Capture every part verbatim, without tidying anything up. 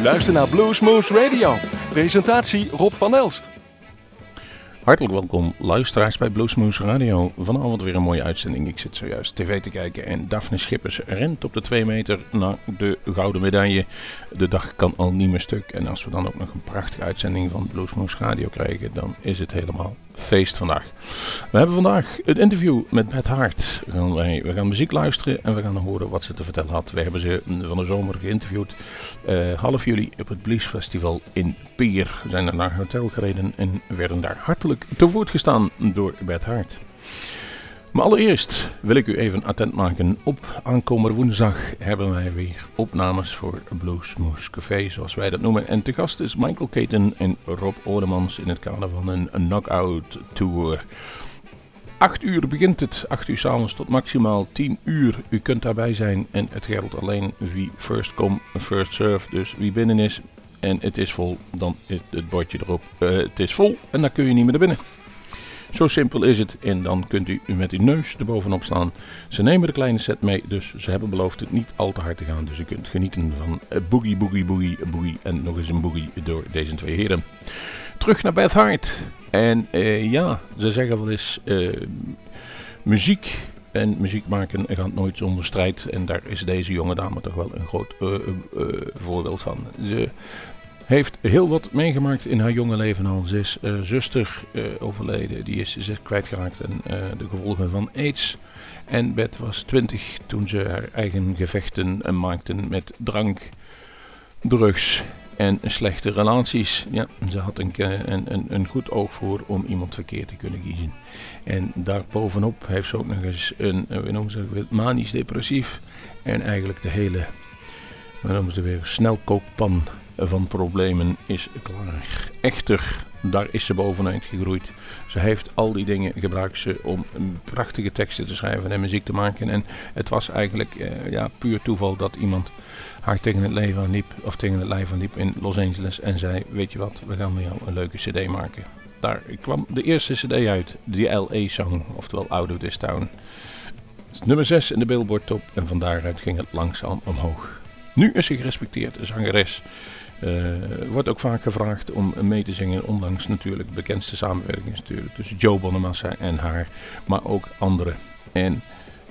luistert naar Bluesmoose Radio. Presentatie Rob van Elst. Hartelijk welkom luisteraars bij Bluesmoose Radio. Vanavond weer een mooie uitzending. Ik zit zojuist tv te kijken en Daphne Schippers rent op de twee meter naar de gouden medaille. De dag kan al niet meer stuk. En als we dan ook nog een prachtige uitzending van Bluesmoose Radio krijgen, dan is het helemaal feest vandaag. We hebben vandaag het interview met Beth Hart. We gaan, wij, we gaan muziek luisteren en we gaan horen wat ze te vertellen had. We hebben ze van de zomer geïnterviewd. Uh, half juli op het Blues Festival in Peer. We zijn er naar een hotel gereden en werden daar hartelijk te woord gestaan door Beth Hart. Maar allereerst wil ik u even attent maken. Op aankomende woensdag hebben wij weer opnames voor Bluesmoose Café, zoals wij dat noemen. En te gast is Michael Caton en Rob Oudemans in het kader van een, een knockout tour. acht uur begint het, acht uur 's avonds tot maximaal tien uur. U kunt daarbij zijn en het geldt alleen wie first come, first serve. Dus wie binnen is en het is vol, dan is het bordje erop. Uh, het is vol en dan kun je niet meer naar binnen. Zo simpel is het en dan kunt u met uw neus erbovenop staan. Ze nemen de kleine set mee, dus ze hebben beloofd het niet al te hard te gaan. Dus u kunt genieten van boogie, boogie, boogie, boogie en nog eens een boogie door deze twee heren. Terug naar Beth Hart. En uh, ja, ze zeggen wel eens uh, muziek en muziek maken gaat nooit zonder strijd. En daar is deze jonge dame toch wel een groot uh, uh, uh, voorbeeld van. Ze heeft heel wat meegemaakt in haar jonge leven al. Ze is uh, zuster uh, overleden, die is, ze is kwijtgeraakt aan uh, de gevolgen van AIDS. En Beth was twintig toen ze haar eigen gevechten uh, maakte met drank, drugs en slechte relaties. Ja, ze had een, een, een, een goed oog voor om iemand verkeerd te kunnen kiezen. En daarbovenop heeft ze ook nog eens een, we noemen ze het, manisch depressief. En eigenlijk de hele, we noemen ze weer, snelkookpan van problemen is klaar. Echter, daar is ze bovenuit gegroeid. Ze heeft al die dingen gebruikt ze om prachtige teksten te schrijven en muziek te maken. En het was eigenlijk uh, ja, puur toeval dat iemand haar tegen het leven aan liep, of tegen het lijf aan liep in Los Angeles en zei, weet je wat, we gaan met jou een leuke cd maken. Daar kwam de eerste cd uit, de L A Song, oftewel Out of This Town. Het is nummer zes in de Billboard Top en van daaruit ging het langzaam omhoog. Nu is ze gerespecteerd zangeres. Uh, wordt ook vaak gevraagd om mee te zingen, ondanks natuurlijk de bekendste samenwerking is natuurlijk tussen Joe Bonamassa en haar, maar ook anderen. En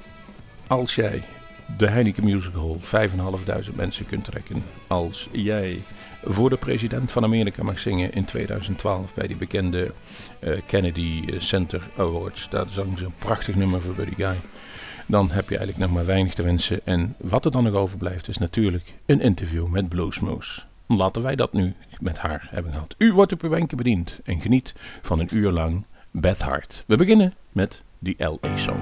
als jij de Heineken Music Hall vijfduizend vijfhonderd mensen kunt trekken, als jij voor de president van Amerika mag zingen in tweeduizend twaalf bij die bekende uh, Kennedy Center Awards, daar zong ze een prachtig nummer voor Buddy Guy, dan heb je eigenlijk nog maar weinig te wensen. En wat er dan nog overblijft is natuurlijk een interview met Bluesmoose. Laten wij dat nu met haar hebben gehad. U wordt op uw wenken bediend en geniet van een uur lang Beth Hart. We beginnen met die L A Song.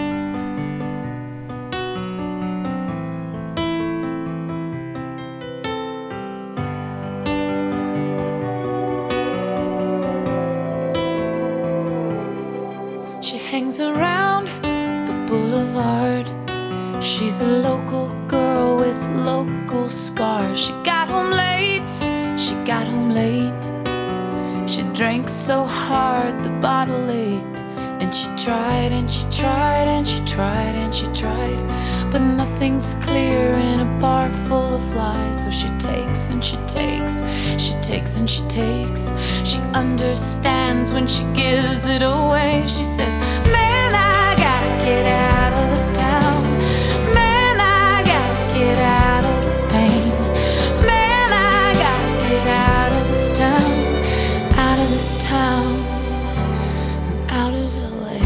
She hangs around the boulevard. She's a local girl with local scars. She got home late, she got home late. She drank so hard the bottle ached. And she tried and she tried and she tried and she tried. But nothing's clear in a bar full of flies. So she takes and she takes, she takes and she takes. She understands when she gives it away. She says, man, I gotta get out of this town. Get out of this pain. Man, I gotta get out of this town. Out of this town. And out of L A.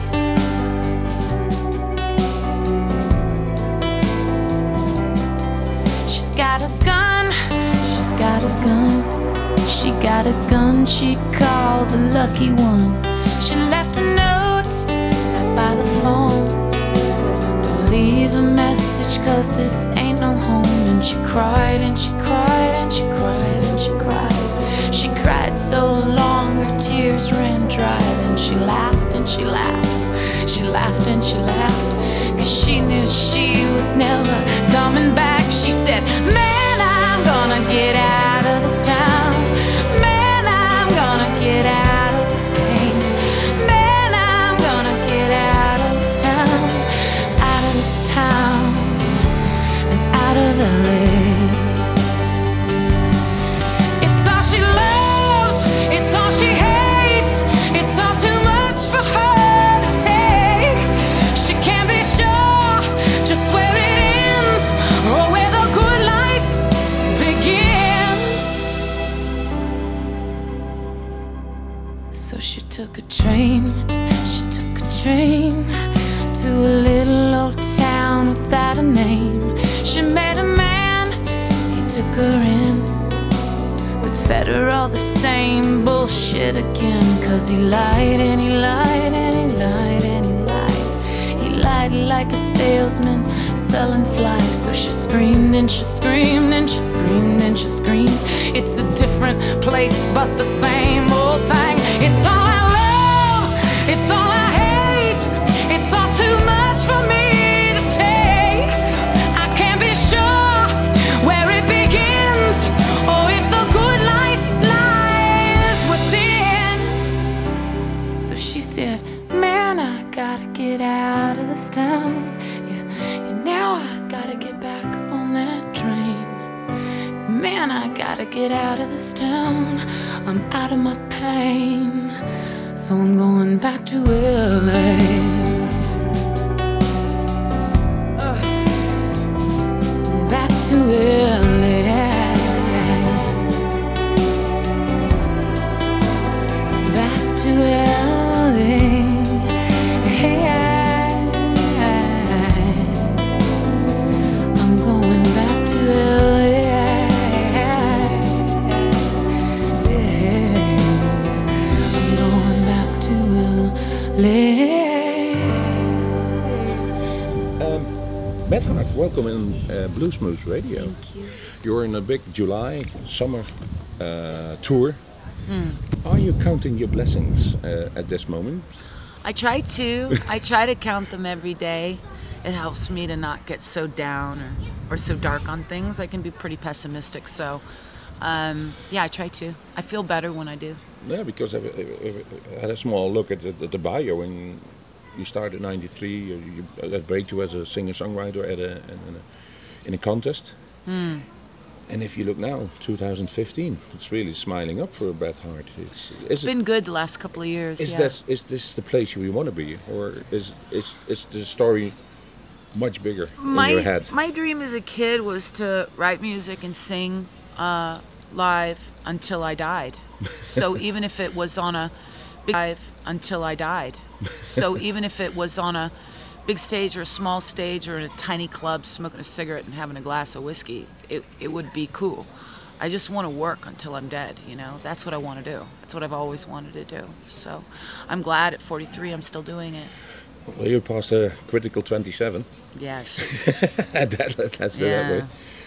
She's got a gun. She's got a gun. She got a gun she called the lucky one. She left a note right by the phone. Leave a message cause this ain't no home. And she cried and she cried and she cried and she cried. She cried so long her tears ran dry. Then she laughed and she laughed. She laughed and she laughed. Cause she knew she was never coming back. She said, man, I'm gonna get out of this town. Man, I'm gonna get out of this pain. Man, I'm gonna get out of this town. Out of this town and out of L A. train to a little old town without a name. She met a man, he took her in, but fed her all the same bullshit again. Cause he lied and he lied and he lied and he lied. He lied like a salesman selling flies. So she screamed and she screamed and she screamed and she screamed. It's a different place but the same old thing. It's all I love, it's all I hate, it's all too much for me to take. I can't be sure where it begins or if the good life lies within. So she said, man, I gotta get out of this town. Yeah, and now I gotta get back on that train. Man, I gotta get out of this town. I'm out of my pain, so I'm going back to L A. Uh, back to L A. Back to L A. I'm going back to L A. Um, Beth Hart, welcome in uh, Bluesmoose Radio. Thank you. You're in a big July summer uh, tour. Mm. Are you counting your blessings uh, at this moment? I try to. I try to count them every day. It helps me to not get so down or, or so dark on things. I can be pretty pessimistic, so um, yeah, I try to. I feel better when I do. Yeah, because I, I, I had a small look at the, at the bio, and you started in ninety-three. You, you, that breakthrough as a singer-songwriter at a, in, a, in a contest. Mm. And if you look now, two thousand fifteen, it's really smiling up for Beth Hart. It's, it's been it, good the last couple of years. Is yeah. this is this the place you want to be, or is is is the story much bigger my, in your head? My dream as a kid was to write music and sing uh, live until I died. So even if it was on a big live until I died. So even if it was on a big stage or a small stage or in a tiny club smoking a cigarette and having a glass of whiskey, it, it would be cool. I just want to work until I'm dead, you know? That's what I want to do. That's what I've always wanted to do. So I'm glad at forty-three I'm still doing it. Well, you passed a critical twenty-seven. Yes. that, that's yeah. that way.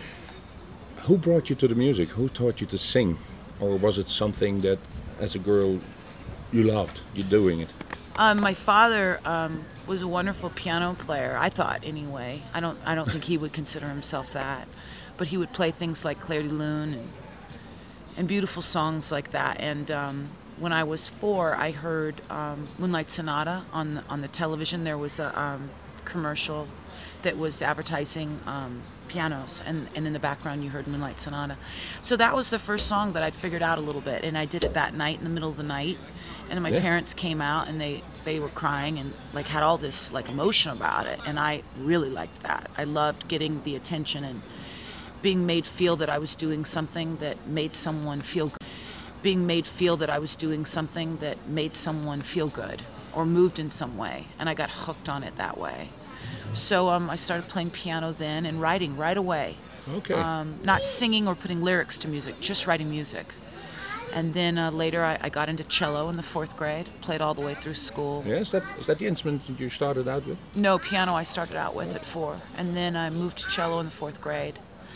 Who brought you to the music? Who taught you to sing? Or was it something that, as a girl, you loved, you doing it? Um, my father um, was a wonderful piano player, I thought anyway. I don't I don't think he would consider himself that. But he would play things like Clair de Lune and, and beautiful songs like that. And um, when I was four, I heard um, Moonlight Sonata on the, on the television. There was a um, commercial that was advertising um, pianos, and, and in the background you heard Moonlight Sonata. So that was the first song that I'd figured out a little bit, and I did it that night in the middle of the night. And my yeah. parents came out and they, they were crying and like had all this like emotion about it, and I really liked that. I loved getting the attention and being made feel that I was doing something that made someone feel good. Being made feel that I was doing something that made someone feel good or moved in some way, and I got hooked on it that way. So um, I started playing piano then and writing right away. Okay. Um, not singing or putting lyrics to music, just writing music. And then uh, later I, I got into cello in the fourth grade, played all the way through school. Yeah, is that, is that the instrument that you started out with? No, piano I started out with at four. And then I moved to cello in the fourth grade.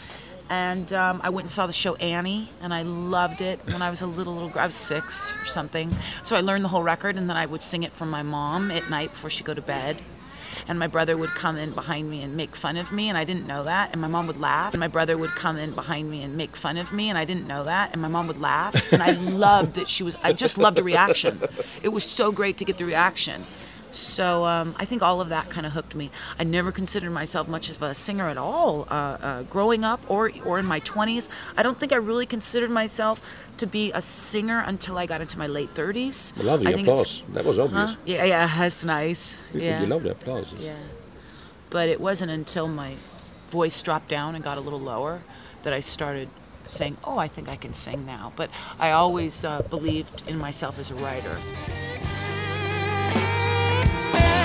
And um, I went and saw the show Annie, and I loved it when I was a little, little girl. I was six or something. So I learned the whole record, and then I would sing it for my mom at night before she'd go to bed. And my brother would come in behind me and make fun of me, and I didn't know that. And my mom would laugh. And my brother would come in behind me and make fun of me, and I didn't know that. And my mom would laugh. And I loved that she was, I just loved the reaction. It was so great to get the reaction. So um, I think all of that kind of hooked me. I never considered myself much of a singer at all, uh, uh, growing up or or in my twenties. I don't think I really considered myself to be a singer until I got into my late thirties. I love the I think applause. That was obvious. Huh? Yeah, yeah, that's nice. Yeah. You love the applause. Yeah. But it wasn't until my voice dropped down and got a little lower that I started saying, oh, I think I can sing now. But I always uh, believed in myself as a writer.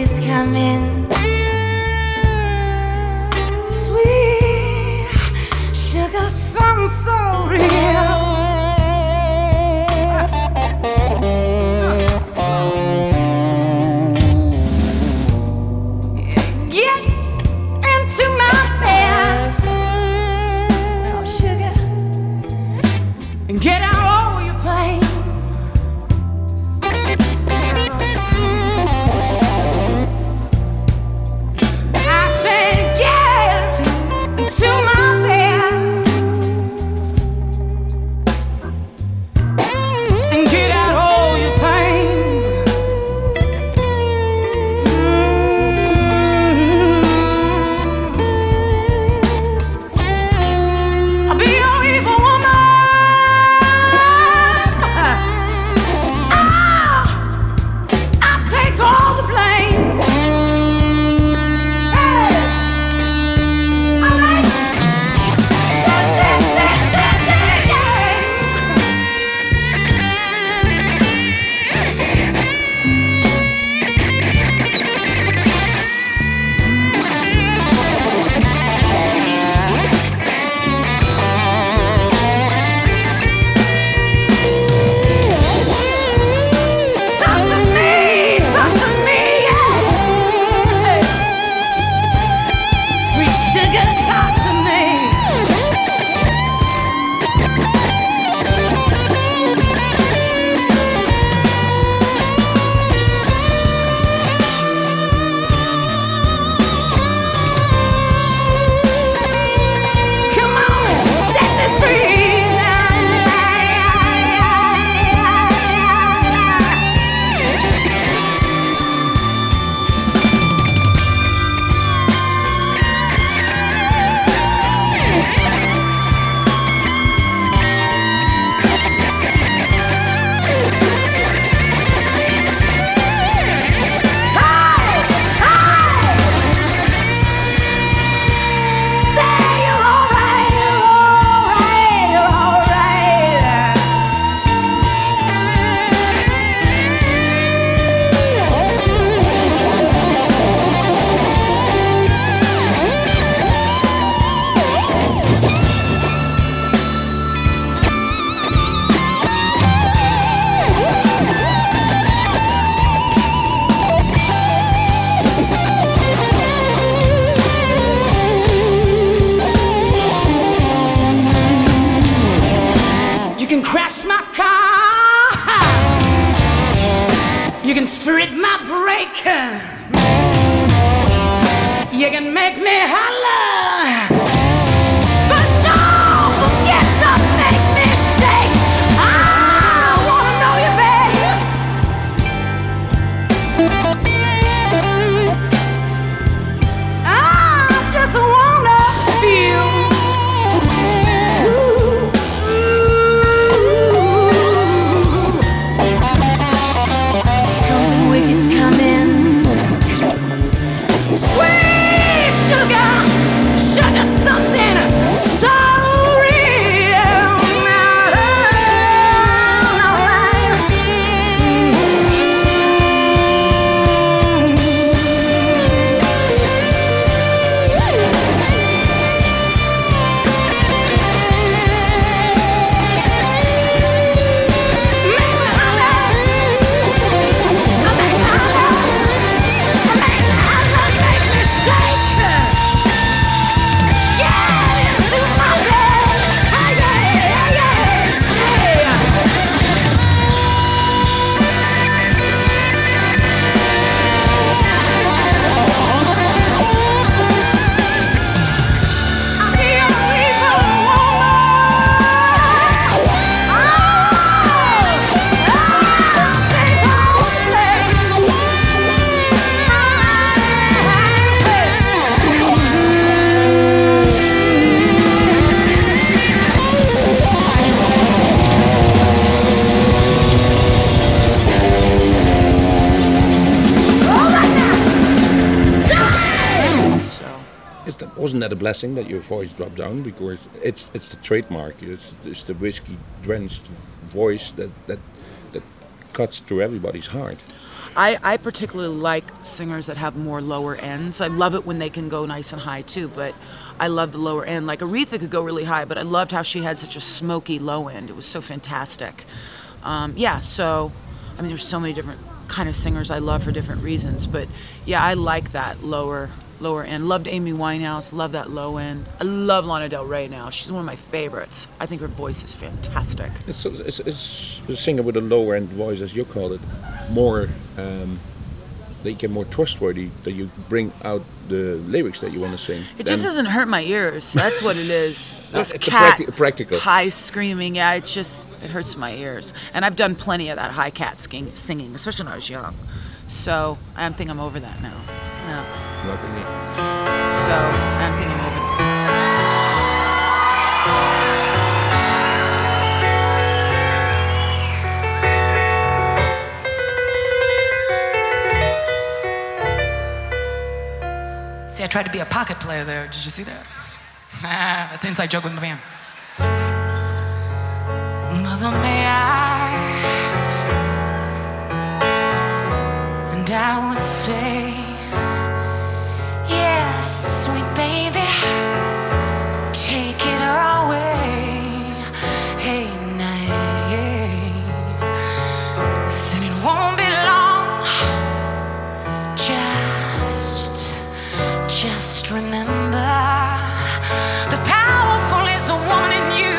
wicket's coming. Sweet sugar, something so real. Get out all your pain. I said get into my bed and get out all your pain. Mm-hmm. I'll be your evil woman. You can make me holler, but don't forget to make me shake. I wanna know you, babe. I just wanna feel. Ooh, ooh. Something wicked's coming. Sweet sugar, sugar something so real. Wasn't that a blessing that your voice dropped down? Because it's it's the trademark. It's, it's the whiskey drenched voice that, that that cuts through everybody's heart. I, I particularly like singers that have more lower ends. I love it when they can go nice and high too, but I love the lower end. Like Aretha could go really high, but I loved how she had such a smoky low end. It was so fantastic. Um, yeah, so, I mean, there's so many different kind of singers I love for different reasons, but yeah, I like that lower lower end. Loved Amy Winehouse, love that low end. I love Lana Del Rey now. She's one of my favorites. I think her voice is fantastic. It's, it's, it's a singer with a lower end voice, as you call it, more, um, that you get more trustworthy, that you bring out the lyrics that you want to sing. It just doesn't hurt my ears. That's what it is. This it's cat, a practi- practical. high screaming, yeah, it's just, it hurts my ears. And I've done plenty of that high cat sk- singing, especially when I was young. So I think I'm over that now. Yeah. Not me. So I think I'm over that. See, I tried to be a pocket player there. Did you see that? That's an inside joke with my band. Mother, may I? And I would say, yes, sweet baby, take it away. Hey, night, said it won't be long. Just, just remember, the powerful is a woman in you.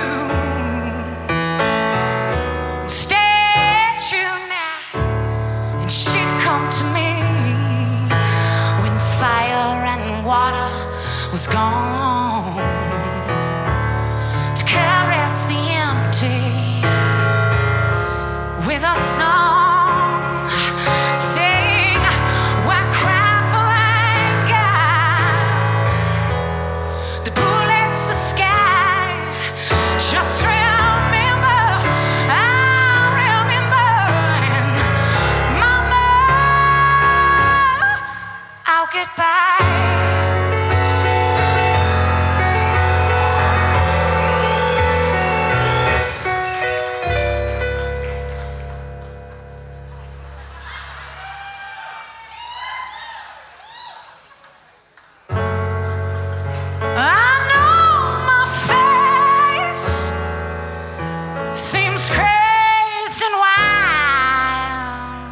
Stay tuned now, and she'd come to me when fire and water was gone, to caress the empty with a song, sing, why cry for anger? The bullets, the sky, just remember, I remember, and mama, I'll get by. I know my face seems crazed and wild,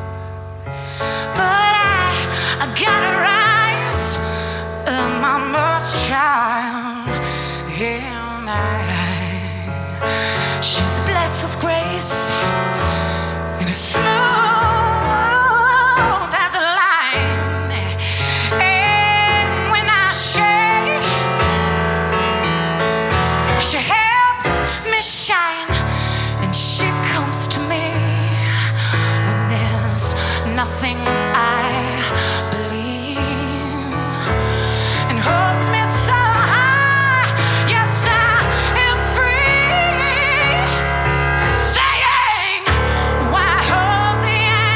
but I, I gotta rise, uh, my most child. Yeah, my, she's blessed with grace and a smooth as a line. And when I shake, she helps me shine, and she comes to me when there's nothing I believe, and holds me so high. Yes, I am free, saying, why hold the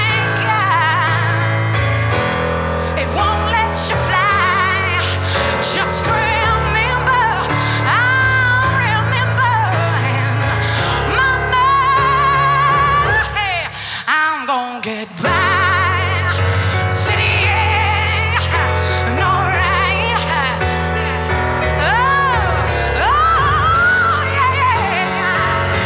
anchor? It won't let you fly. Just remember, I'll remember, and mama, hey, I'm gonna get by. City, yeah, no rain. Oh, oh, yeah, yeah.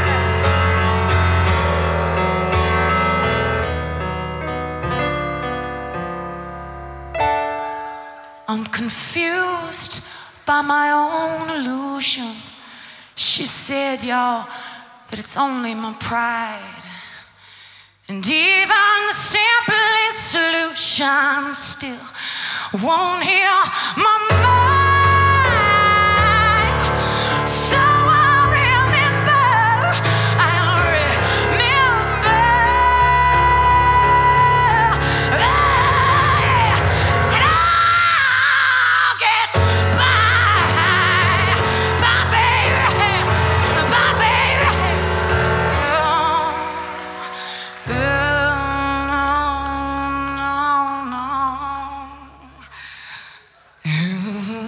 I'm confused by my own illusion. She said, y'all, that it's only my pride. And even the simplest solution still won't heal my mind. So I'll remember, I'll remember, ah, and I'll get by, by baby, by baby. Oh, no, no, no.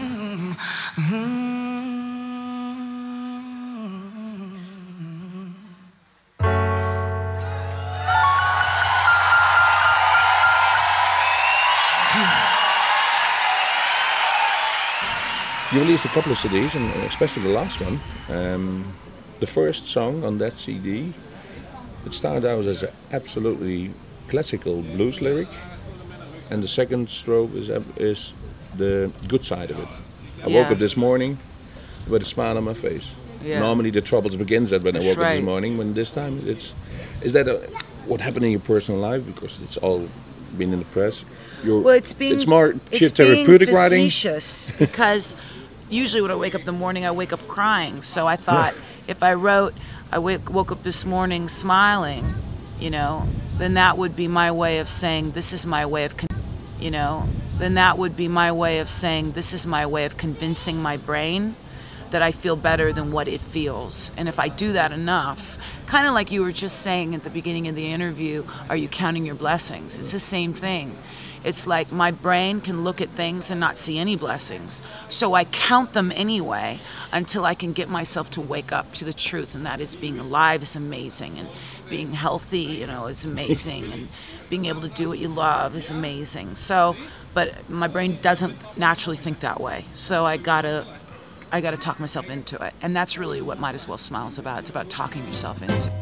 You released a couple of C Ds, and especially the last one. Um, the first song on that C D, it started out as an absolutely classical blues lyric, and the second strophe is is the good side of it. I Yeah. woke up this morning with a smile on my face. Yeah. Normally the troubles begins at when I That's woke up right. this morning. When this time it's, is that a, what happened in your personal life? Because it's all been in the press. You're, Well, it's being it's more it's therapeutic being writing. facetious because usually when I wake up in the morning, I wake up crying. So I thought if I wrote, I wake, woke up this morning smiling, you know, then that would be my way of saying this is my way of, con- you know, then that would be my way of saying this is my way of convincing my brain that I feel better than what it feels. And if I do that enough, kind of like you were just saying at the beginning of the interview, are you counting your blessings? It's the same thing. It's like my brain can look at things and not see any blessings. So I count them anyway until I can get myself to wake up to the truth, and that is being alive is amazing, and being healthy, you know, is amazing, and being able to do what you love is amazing. So, but my brain doesn't naturally think that way. So I gotta I got to talk myself into it. And that's really what Might As Well Smile is about. It's about talking yourself into it.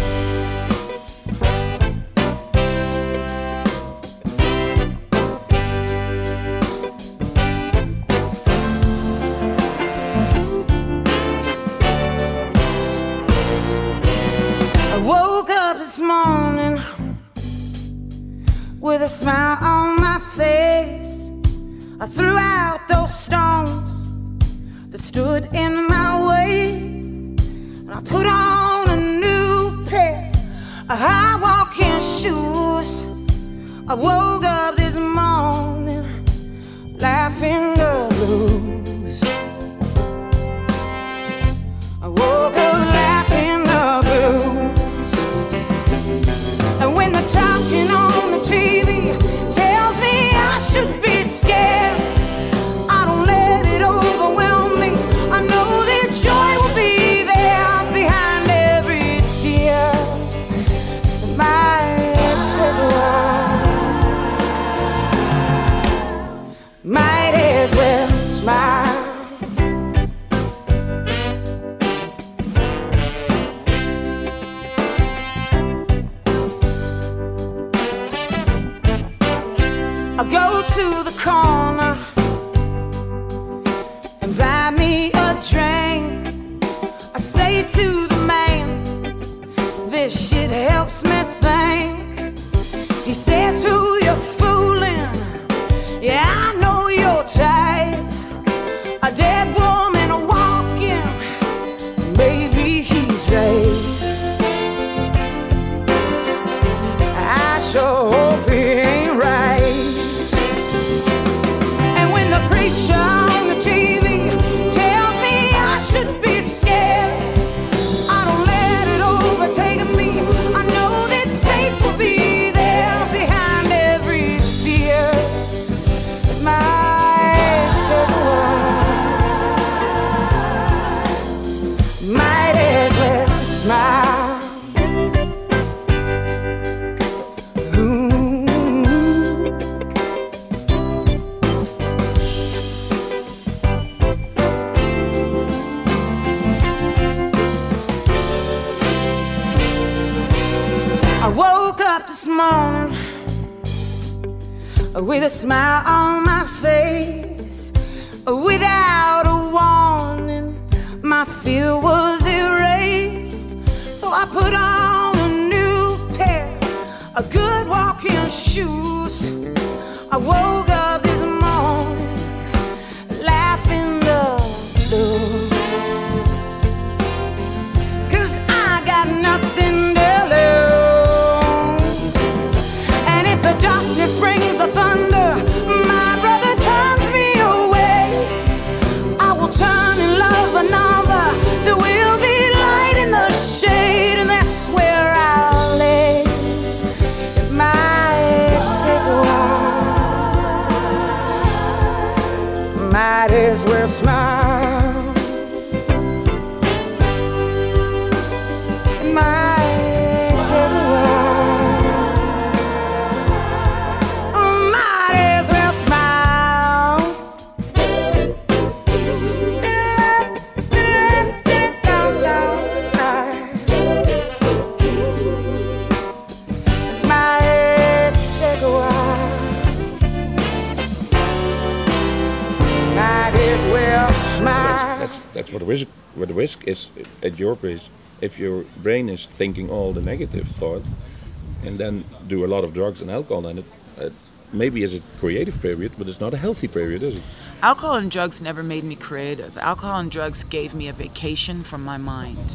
I woke up this morning with a smile on my face. I threw out those stones that stood in my way, and I put on a new pair of high walking shoes. I woke up this morning laughing the blues. I woke up laughing the blues. And when the talking on the T V tells me I should be scared, I don't let it overwhelm me. I know that joy will be there behind every tear. It might take a while. Might as well smile. I go to the corner and buy me a drink. I say to the man, this shit helps me think. He says, who you fooling? Yeah, I know your type. A dead woman walking, maybe he's right. I sure hope he ain't right. And when the preacher on the T V tells me I should be scared, I don't let it overtake me. I know that faith will be there behind every fear. It might take a while. Might as well smile. I woke up this morning with a smile on my face. Without a warning, my fear was erased. So I put on a new pair of good walking shoes. I woke up this morning laughing the blues. 'Cause I got nothing to lose. And if the darkness brings the thunder, my brother turns me away, I will turn and love another. There will be light in the shade, and that's where I'll lay. It might take a while. that's what the risk. What the risk is at your place. If your brain is thinking all the negative thoughts, and then do a lot of drugs and alcohol, then it uh, maybe it's a creative period, but it's not a healthy period, is it? Alcohol and drugs never made me creative. Alcohol and drugs gave me a vacation from my mind.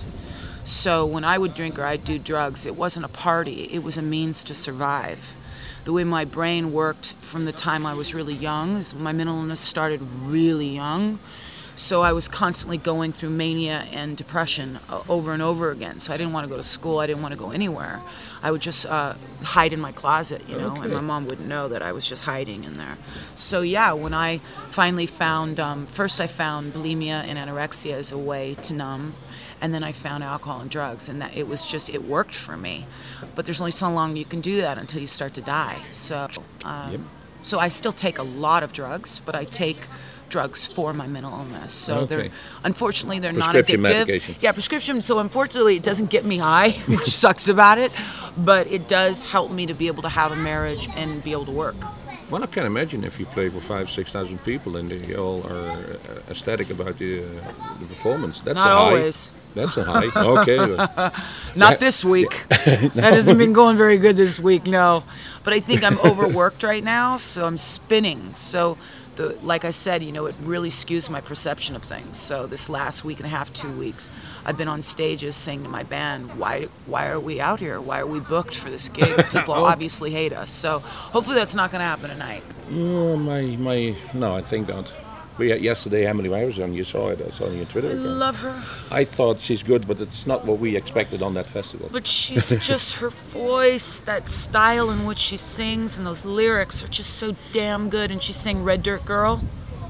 So when I would drink or I'd do drugs, it wasn't a party, it was a means to survive. The way my brain worked from the time I was really young, my mental illness started really young. So I was constantly going through mania and depression uh, over and over again. So I didn't want to go to school. I didn't want to go anywhere. I would just uh, hide in my closet, you know, okay. And my mom wouldn't know that I was just hiding in there. So yeah, when I finally found, um, first I found bulimia and anorexia as a way to numb. And then I found alcohol and drugs, and that it was just, it worked for me. But there's only so long you can do that until you start to die. So, um, yep. So I still take a lot of drugs, but I take drugs for my mental illness. So okay. they're, unfortunately, they're not addictive. Medication. Yeah, prescription. So unfortunately, it doesn't get me high, which sucks about it. But it does help me to be able to have a marriage and be able to work. Well, I can imagine if you play for five, six thousand people and they all are ecstatic about the, uh, the performance. That's not a high. always. That's a high. Okay. Not yeah. this week. No. That hasn't been going very good this week. No, but I think I'm overworked right now, so I'm spinning. So. The, like I said, you know, it really skews my perception of things. So this last week and a half, two weeks, I've been on stages saying to my band, why why are we out here? Why are we booked for this gig? People obviously hate us. So hopefully that's not going to happen tonight. Oh, my, my, no, I think not. We had yesterday, Emily Wieversong, you saw it, I saw it on your Twitter I account. love her. I thought she's good, but it's not what we expected on that festival. But she's just, her voice, that style in which she sings, and those lyrics are just so damn good. And she sang Red Dirt Girl.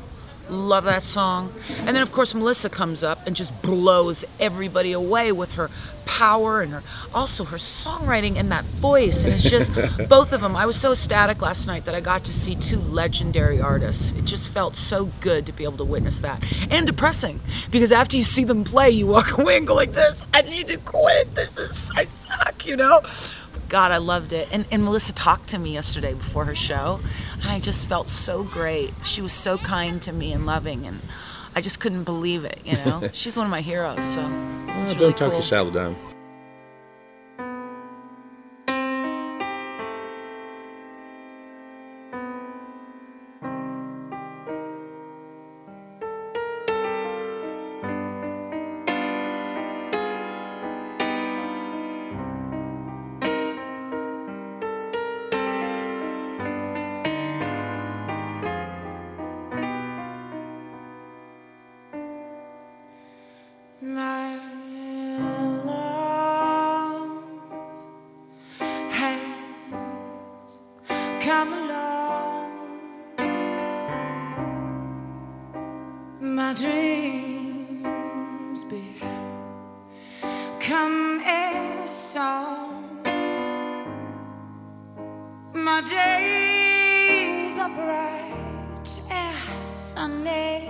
Love that song. And then, of course, Melissa comes up and just blows everybody away with her power and her, also her songwriting and that voice. And it's just, both of them. I was so ecstatic last night that I got to see two legendary artists. It just felt so good to be able to witness that. And depressing, because after you see them play, you walk away and go like this, I need to quit. This is, I suck, you know? God, I loved it. And, and Melissa talked to me yesterday before her show, and I just felt so great. She was so kind to me and loving, and I just couldn't believe it, you know? She's one of my heroes, so it's well, really don't talk cool. yourself down. My love has come along. My dreams become a song. My days are bright and sunny.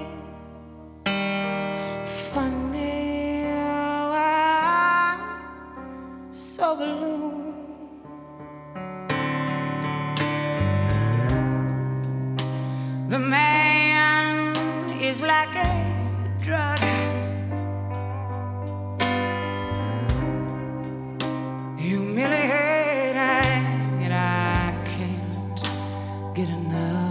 Funny, I'm so blue. The man is like a drug. Humiliating, and I can't get enough.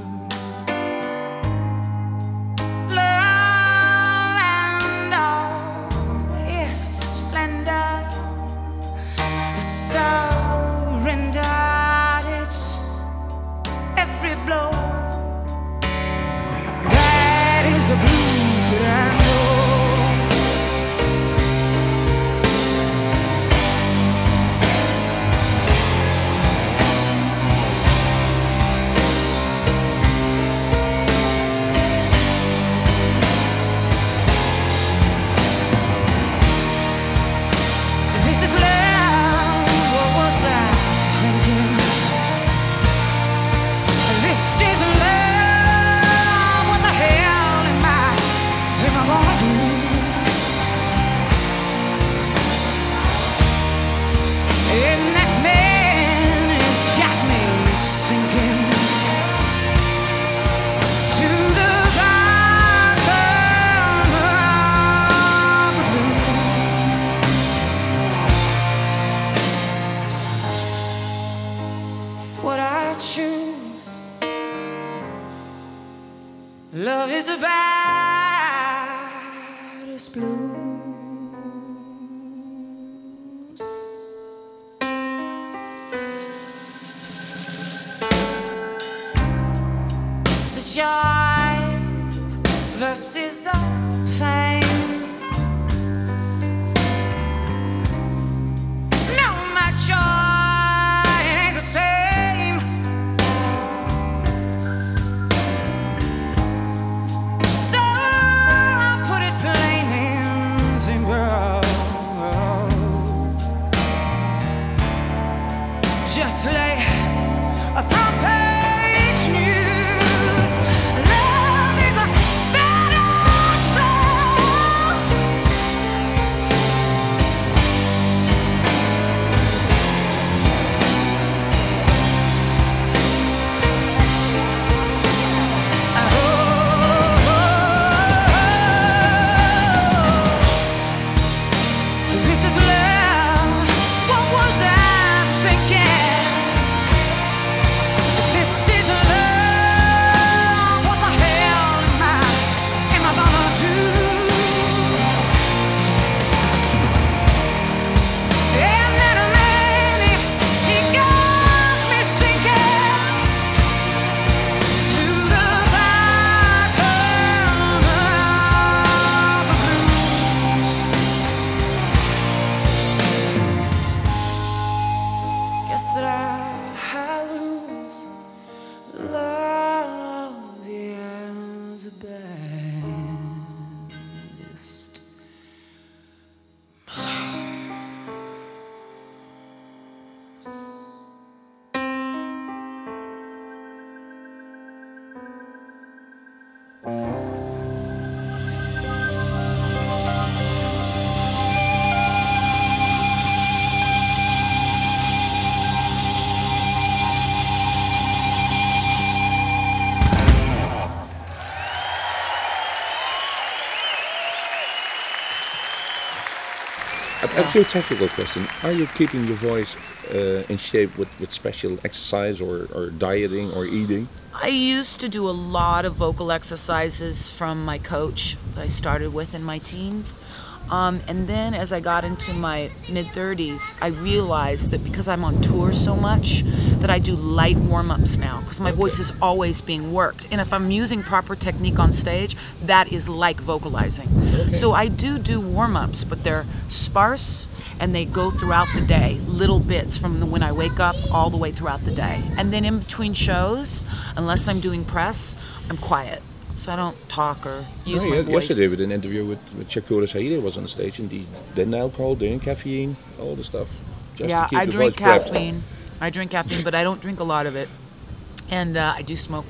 Surrender, it's every blow. That is the blues that I know. This is love. about his blues. The joy versus the fame. No, my joy ain't the same. So I'll put it plain and simple. Just lay a front page news. Love is a better stuff. This is love. What was I thinking? This is love. What the hell am I, am I gonna do? And then a man, he, he got me sinking to the bottom of the blue. Guess that I lose. Love is the best. A, a few technical questions. Are you keeping your voice uh, in shape with, with special exercise or, or dieting or eating? I used to do a lot of vocal exercises from my coach that I started with in my teens. Um, and then as I got into my mid-thirties, I realized that because I'm on tour so much, that I do light warm-ups now, because my voice is always being worked. And if I'm using proper technique on stage, that is like vocalizing. Okay. So I do do warm-ups, but they're sparse, and they go throughout the day, little bits from the, when I wake up all the way throughout the day. And then in between shows, unless I'm doing press, I'm quiet. So I don't talk or use No, my ye- voice. Yesterday with an interview with, with Shakura Saidi was on the stage and he didn't alcohol, didn't caffeine, all the stuff. Just yeah, to keep I the drink voice prepped. caffeine. I drink caffeine, but I don't drink a lot of it. And uh, I do smoke.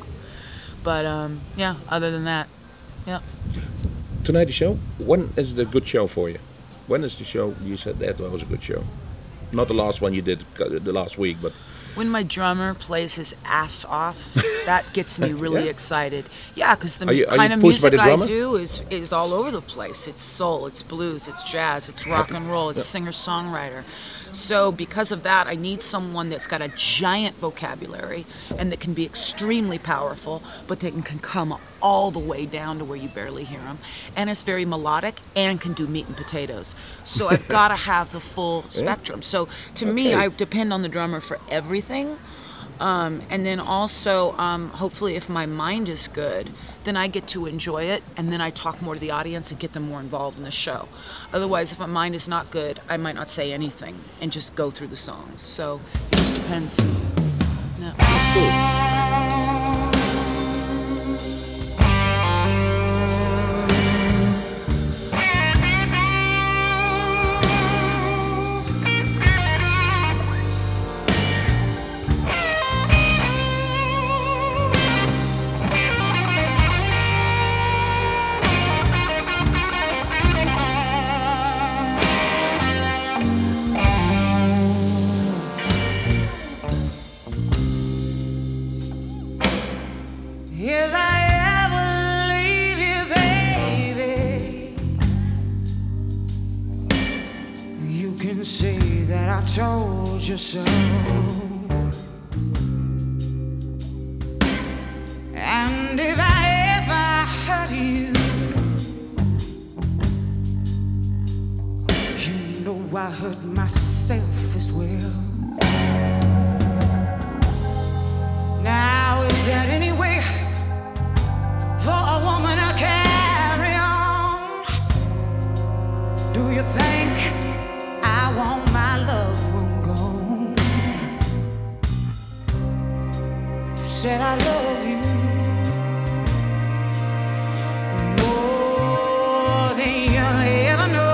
But um, yeah, other than that, yeah. Tonight the show, when is the good show for you? When is the show you said that was a good show? Not the last one you did uh, the last week, but When my drummer plays his ass off, that gets me really Yeah? excited. Yeah, because the Are you- are kind you of pushed by music the I drummer? do is is all over the place. It's soul, it's blues, it's jazz, it's rock and roll, it's singer-songwriter. So because of that, I need someone that's got a giant vocabulary and that can be extremely powerful, but that can come all the way down to where you barely hear them. And it's very melodic and can do meat and potatoes. So I've got to have the full spectrum. So to me, Okay. I depend on the drummer for everything. Um, and then also, um, hopefully, if my mind is good, then I get to enjoy it, and then I talk more to the audience and get them more involved in the show. Otherwise, if my mind is not good, I might not say anything and just go through the songs. So it just depends. Yeah. If I ever leave you, baby, you can say that I told you so. And if I ever hurt I hurt myself as well. Now is there any way for a woman to carry on? Do you think I want my loved one gone? Said I love you more than you'll ever know.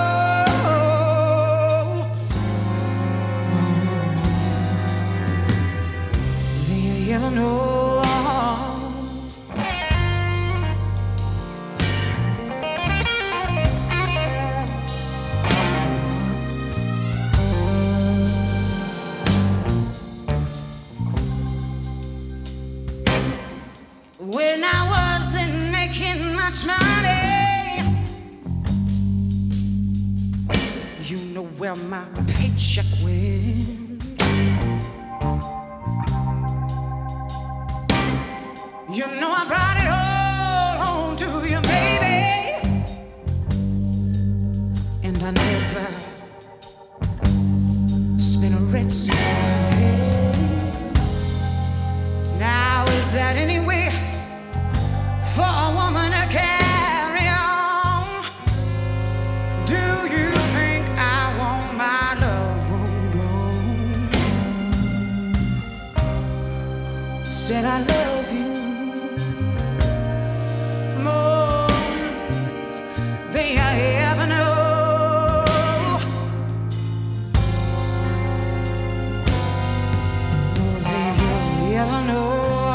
Ever know. When I wasn't making much money, you know where my paycheck went. You know I brought it all home to you, baby, and I never spent a red cent. Now is that any way for a woman to carry on? Do you think I want my love one gone? Said I love you more than I ever know. More than you ever know.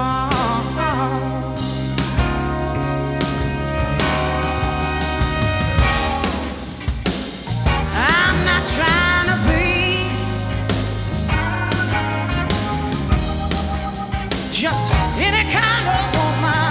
I'm not trying to be just any kind of woman.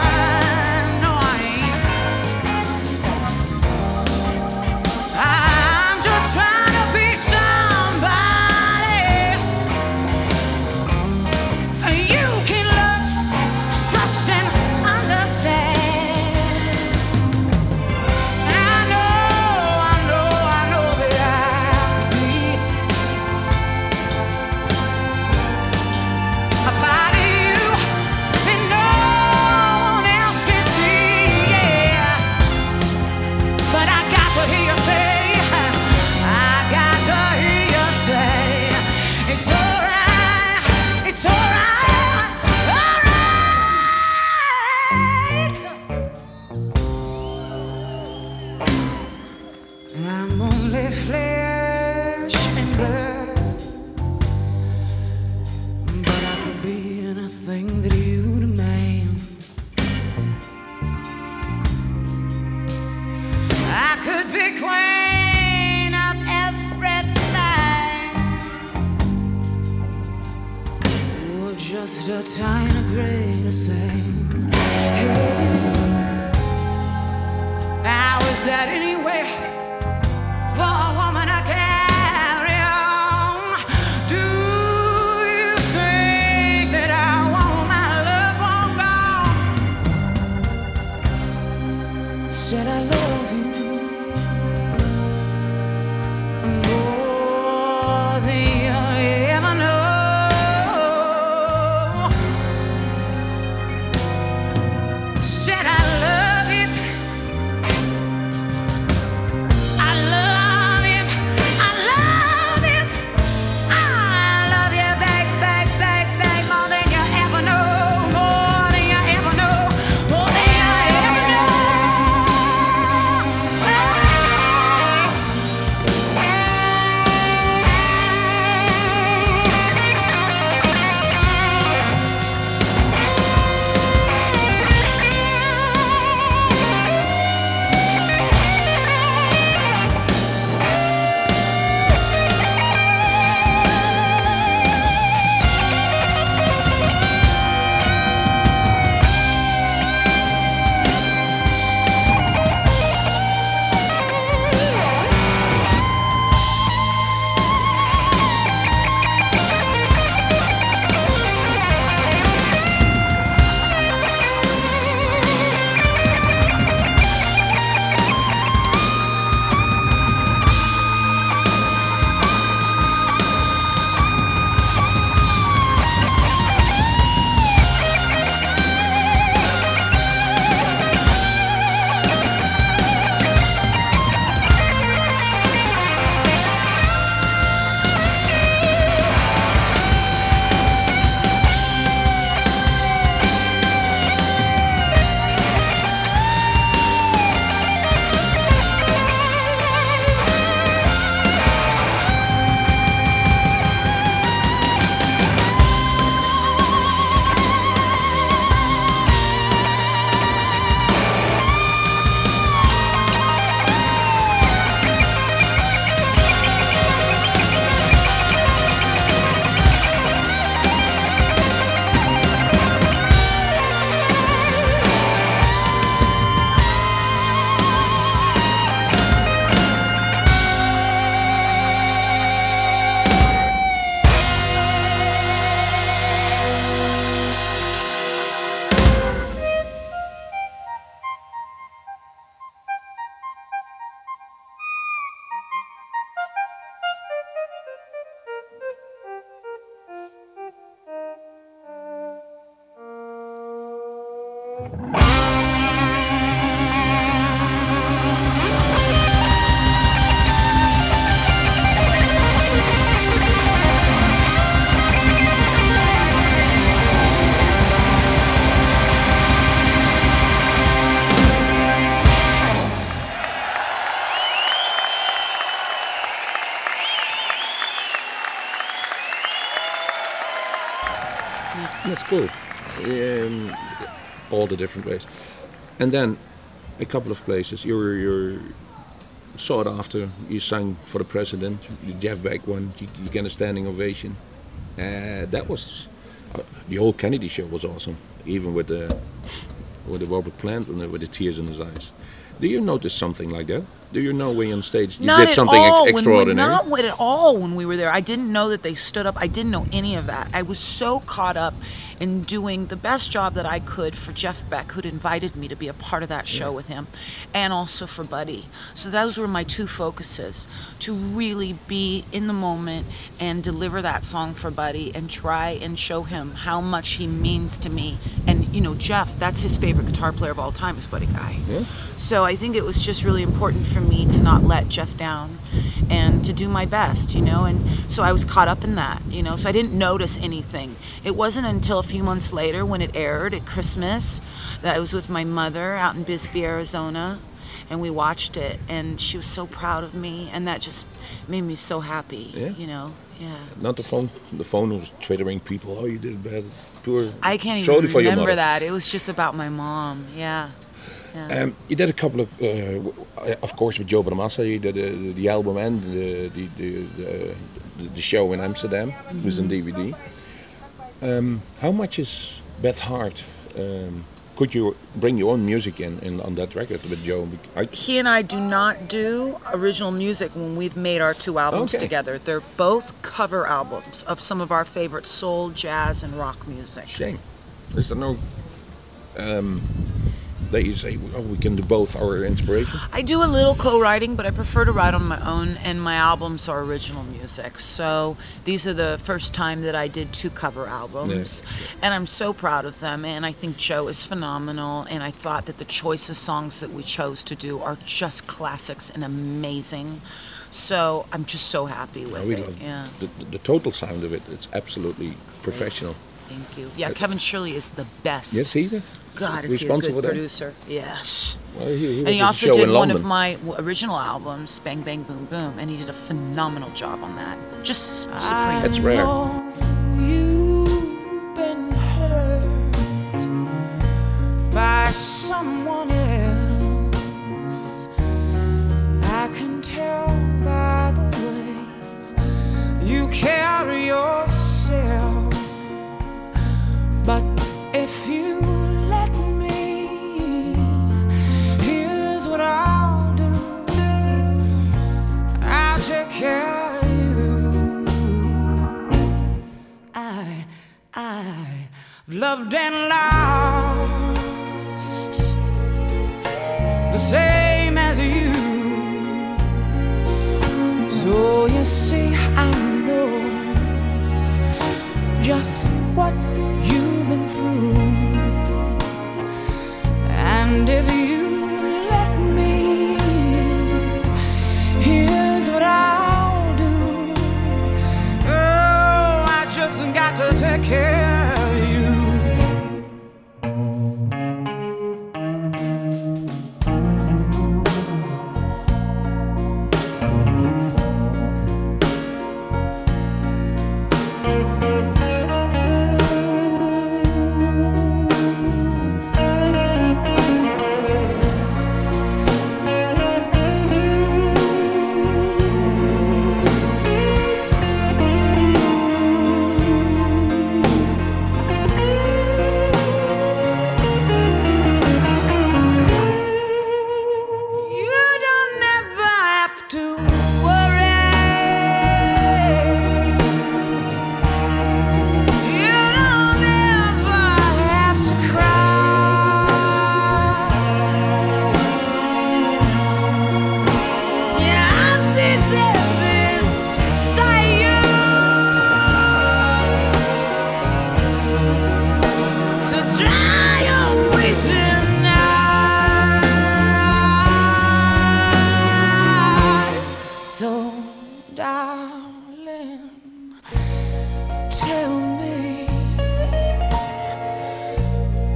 I'm only flesh and blood, but I could be anything that you demand. I could be queen of everything, or just a tiny grain of sand. Hey. Now is that anywhere for a woman to carry on? Do you think that I want my love one gone? Said I love you more than you'll ever know. Said I love you, I love That's cool. Um, all the different ways. And then a couple of places. You're, you're sought after. You sang for the president. The Jeff Beck one. You, you get a standing ovation. Uh, that was uh, the whole Kennedy show was awesome. Even with the with the Robert Plant and the, with the tears in his eyes. Do you notice something like that? Do you know when you're on stage you not did at something all. ex- extraordinary? When we, not at all when we were there. I didn't know that they stood up. I didn't know any of that. I was so caught up in doing the best job that I could for Jeff Beck, who'd invited me to be a part of that show yeah. with him, and also for Buddy. So those were my two focuses, to really be in the moment and deliver that song for Buddy and try and show him how much he means to me. And, you know, Jeff, that's his favorite guitar player of all time is Buddy Guy. Yeah. So I think it was just really important for me to not let Jeff down and to do my best, you know, and so I was caught up in that, you know, so I didn't notice anything. It wasn't until a few months later when it aired at Christmas that I was with my mother out in Bisbee, Arizona, and we watched it, and she was so proud of me, and that just made me so happy, yeah. you know. Yeah. Not the phone. The phone was twittering people. Oh, you did a bad tour. I can't Sorry even for your remember mother. that. It was just about my mom. Yeah. yeah. Um, you did a couple of, uh, of course, with Joe Bonamassa. You did the, the album and the the, the the the show in Amsterdam. Mm-hmm. It was on D V D. Um, how much is Beth Hart? Um, could you bring your own music in, in on that record with Joe? I, he and I do not do original music when we've made our two albums okay. together. They're both cover albums of some of our favorite soul, jazz, and rock music. Shame. Is there no um, that you say, oh, we can do both our inspiration? I do a little co-writing, but I prefer to write on my own, and my albums are original music. So these are the first time that I did two cover albums, yeah. and I'm so proud of them, and I think Joe is phenomenal, and I thought that the choice of songs that we chose to do are just classics and amazing. So I'm just so happy with I really it. love Yeah. The, the, the total sound of it, it's absolutely professional. Thank you. Yeah, Kevin Shirley is the best. Yes, he's a God, is he a good producer? Yes. Well, he, he and he also show did in one London. of my original albums, Bang Bang Boom Boom, and he did a phenomenal job on that. Just supreme. That's rare. You've been hurt by someone else. I can tell by the way you carry yourself. But if you let me, here's what I'll do. I'll take care of you. I, I loved and lost the same as you. So you see, I know just what you've been through, and if you let me, here's what I'll do. Oh, I just got to take care of you.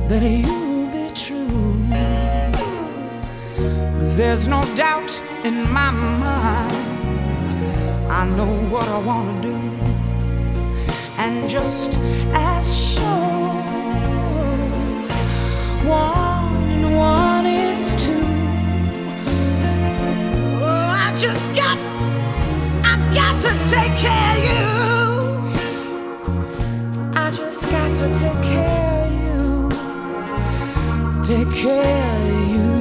that you'll be true. 'Cause there's no doubt in my mind, I know what I wanna do. And just as sure, one and one is two. Oh, I just got, I got to take care of you. I just got to take care of you. Take care of you.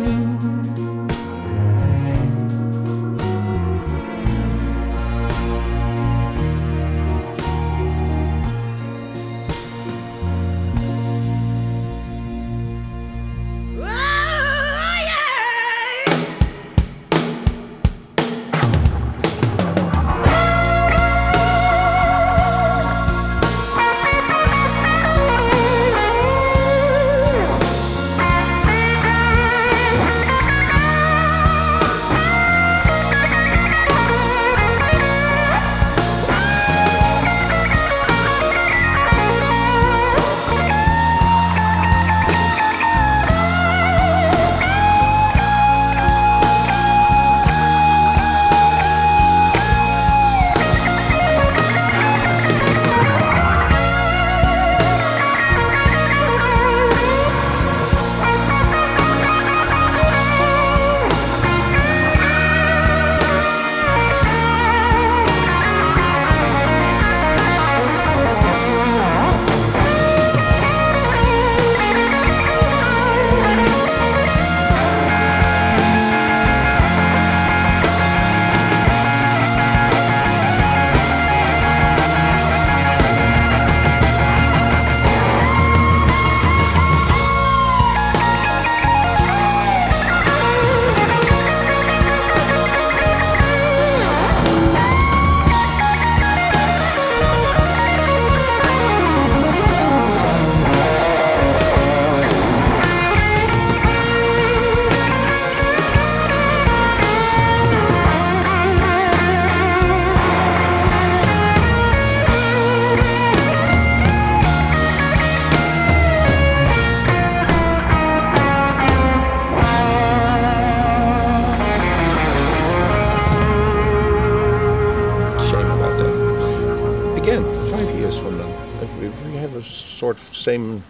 Same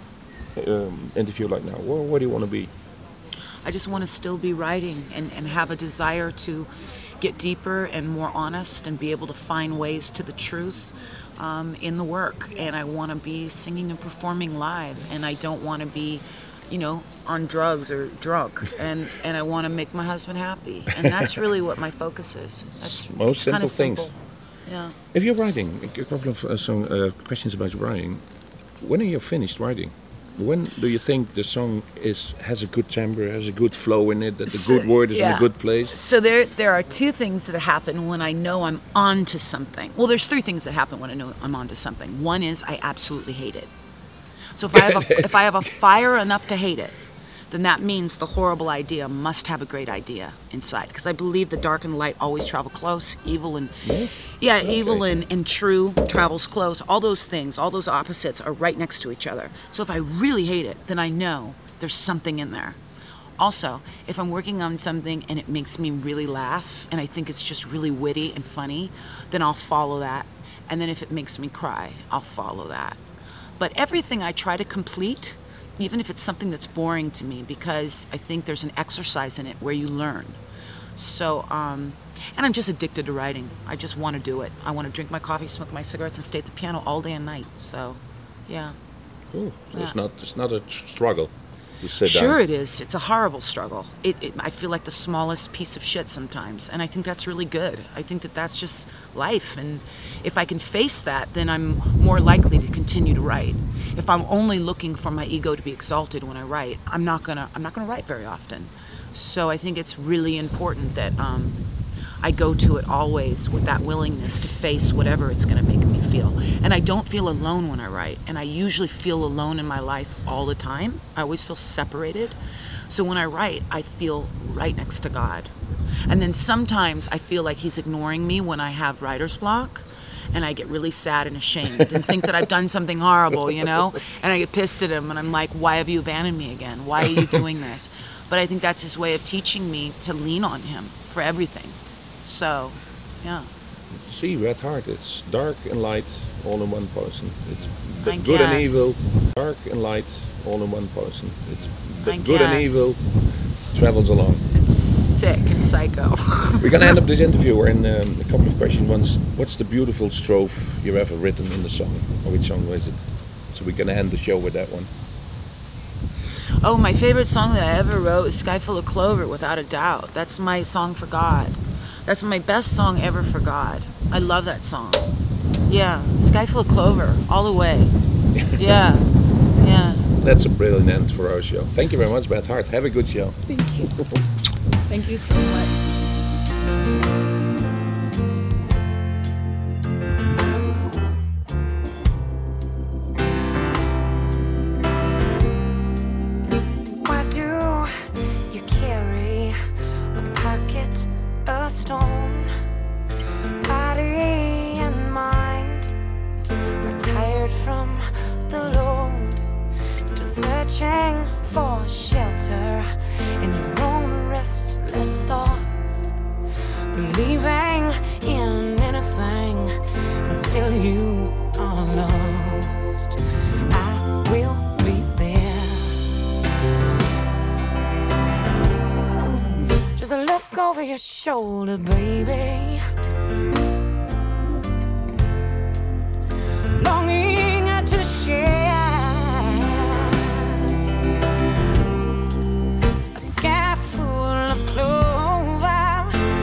um, interview like now, where, where do you want to be? I just want to still be writing and, and have a desire to get deeper and more honest and be able to find ways to the truth um, in the work. And I want to be singing and performing live, and I don't want to be, you know, on drugs or drunk. And, and I want to make my husband happy. And that's really what my focus is. That's most simple things. Simple. Yeah. If you're writing, a couple of uh, some uh, questions about writing. When are you finished writing? When do you think the song is has a good timbre, has a good flow in it, that the so, good word is yeah. in a good place? So there there are two things that happen when I know I'm on to something. Well, there's three things that happen when I know I'm on to something. One is I absolutely hate it. So if I have a, if I have a fire enough to hate it, then that means the horrible idea must have a great idea inside. Because I believe the dark and the light always travel close. Evil and yeah, yeah evil and, and true travels close. All those things, all those opposites are right next to each other. So if I really hate it, then I know there's something in there. Also, if I'm working on something and it makes me really laugh and I think it's just really witty and funny, then I'll follow that. And then if it makes me cry, I'll follow that. But everything I try to complete, even if it's something that's boring to me, because I think there's an exercise in it where you learn. So, um, and I'm just addicted to writing. I just want to do it. I want to drink my coffee, smoke my cigarettes, and stay at the piano all day and night. So, yeah. Cool. So yeah. It's not it's not a struggle to sit sure down. It is. It's a horrible struggle. It, it, I feel like the smallest piece of shit sometimes, and I think that's really good. I think that that's just life, and if I can face that, then I'm more likely to continue to write. If I'm only looking for my ego to be exalted when I write, I'm not gonna I'm not gonna write very often. So I think it's really important that um, I go to it always with that willingness to face whatever it's gonna make me feel. And I don't feel alone when I write, and I usually feel alone in my life all the time. I always feel separated. So when I write, I feel right next to God. And then sometimes I feel like he's ignoring me when I have writer's block. and I get really sad and ashamed and think that I've done something horrible, you know? And I get pissed at him and I'm like, why have you abandoned me again? Why are you doing this? But I think that's his way of teaching me to lean on him for everything. So, yeah. See, Red Heart, it's dark and light all in one person. It's I good guess. and evil, dark and light all in one person. It's I good and guess. evil travels along. It's sick and psycho. We're going to end up this interview in um, a couple of questions. Once, what's the beautiful strophe you've ever written in the song? Or which song was it? So we're going to end the show with that one. Oh, my favorite song that I ever wrote is Sky Full of Clover, without a doubt. That's my song for God. That's my best song ever for God. I love that song. Yeah, Sky Full of Clover, all the way. Yeah, yeah. That's a brilliant end for our show. Thank you very much, Beth Hart. Have a good show. Thank you. Thank you so much. Why do you carry a pocket of stone? Body and mind are tired from the load, still searching for shelter in your own restless thoughts, believing in anything, and still you are lost. I will be there. Just look over your shoulder, baby. Longing to share a sky full of clover,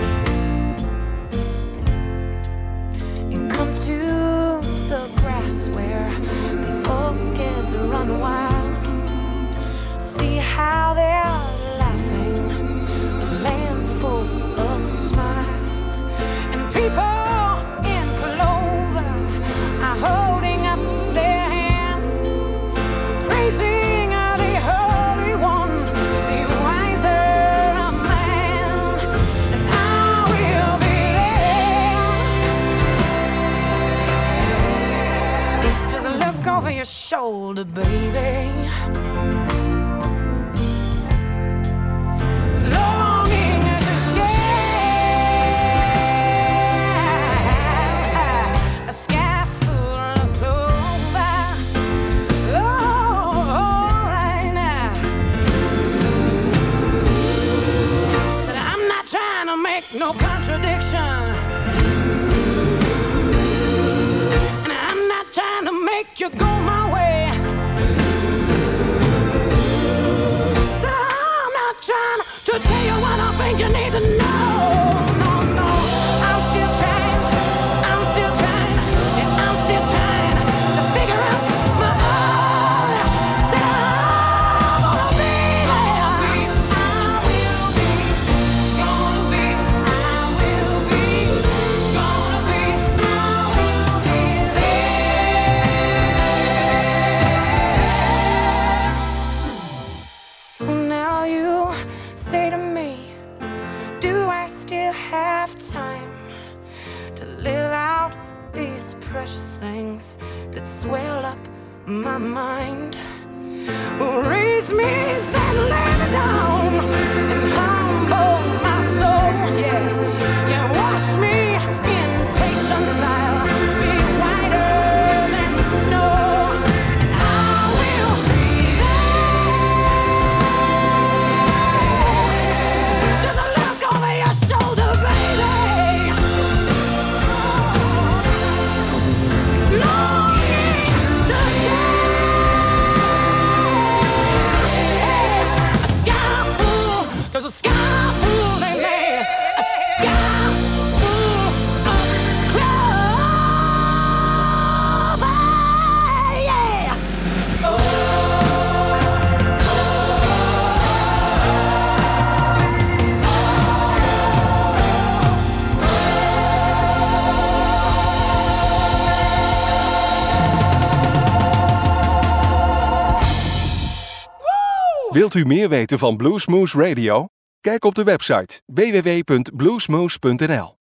and come to the grass where the orchids run wild. See how they're laughing, a land full of smile, and people in clover are holding up their hands, praising the Holy One, the wiser of man. And I will be there. Just look over your shoulder, baby. Longing to share a sky full of clover. Oh, right now. Said I'm not trying to make no contradiction, and I'm not trying to make you go my way. So I'm not trying to tell you what I think you need to know. No, no, I'm still trying, I'm still trying, and I'm still trying to figure out my own. So I'm gonna be there. I will be, gonna be, I will be, gonna be, I will be there. So now you say to me, do I still have time to live out these precious things that swell up my mind? Will raise me, then lay me down and humble my soul. Yeah, yeah, wash me in patience. I'll be whiter than snow. And I will be there. Just look over your shoulder, baby. Longing to share a sky full. There's a sky full, baby. A sky full of clover. Yeah. Wilt u meer weten van Bluesmoose Radio? Kijk op de website w w w punt bluesmoose punt n l.